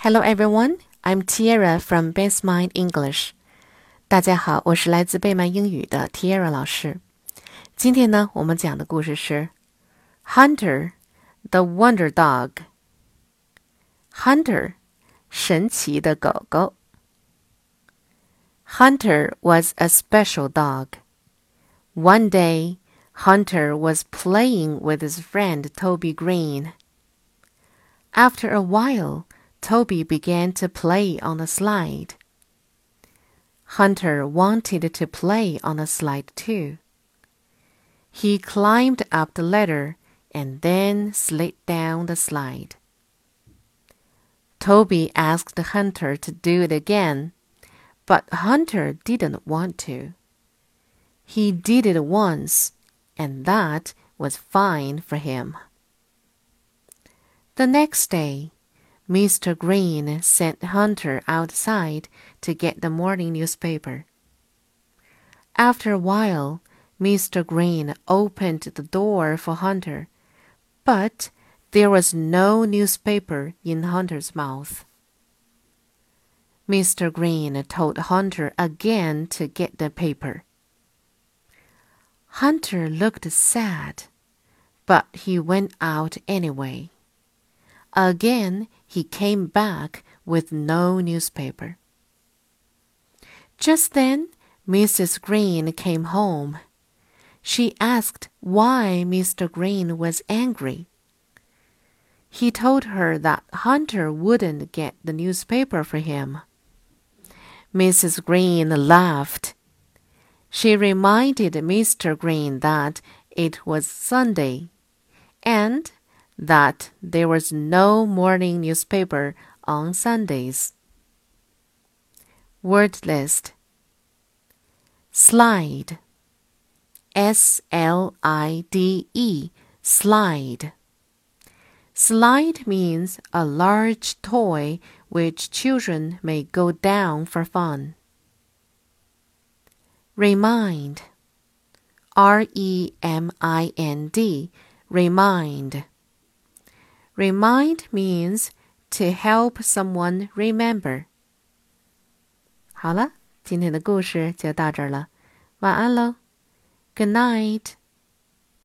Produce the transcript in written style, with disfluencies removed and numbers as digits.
Hello everyone, I'm Tiara from Base Mind English. 大家好，我是来自贝曼英语的 Tiara 老师。今天呢，我们讲的故事是 Hunter, the Wonder Dog. Hunter, 神奇的狗狗。Hunter was a special dog. One day, Hunter was playing with his friend Toby Green. After a while, Toby began to play on the slide. Hunter wanted to play on the slide too. He climbed up the ladder and then slid down the slide. Toby asked Hunter to do it again, but Hunter didn't want to. He did it once, and that was fine for him. The next day, Mr. Green sent Hunter outside to get the morning newspaper. After a while, Mr. Green opened the door for Hunter, but there was no newspaper in Hunter's mouth. Mr. Green told Hunter again to get the paper. Hunter looked sad, but he went out anyway. Again, he came back with no newspaper. Just then, Mrs. Green came home. She asked why Mr. Green was angry. He told her that Hunter wouldn't get the newspaper for him. Mrs. Green laughed. She reminded Mr. Green that it was Sunday, and that there was no morning newspaper on Sundays. Word list. Slide. S-L-I-D-E. Slide. Slide means a large toy which children may go down for fun. Remind. R-E-M-I-N-D. Remind. Remind means to help someone remember. 好了，今天的故事就到这儿了，晚安喽。Good night.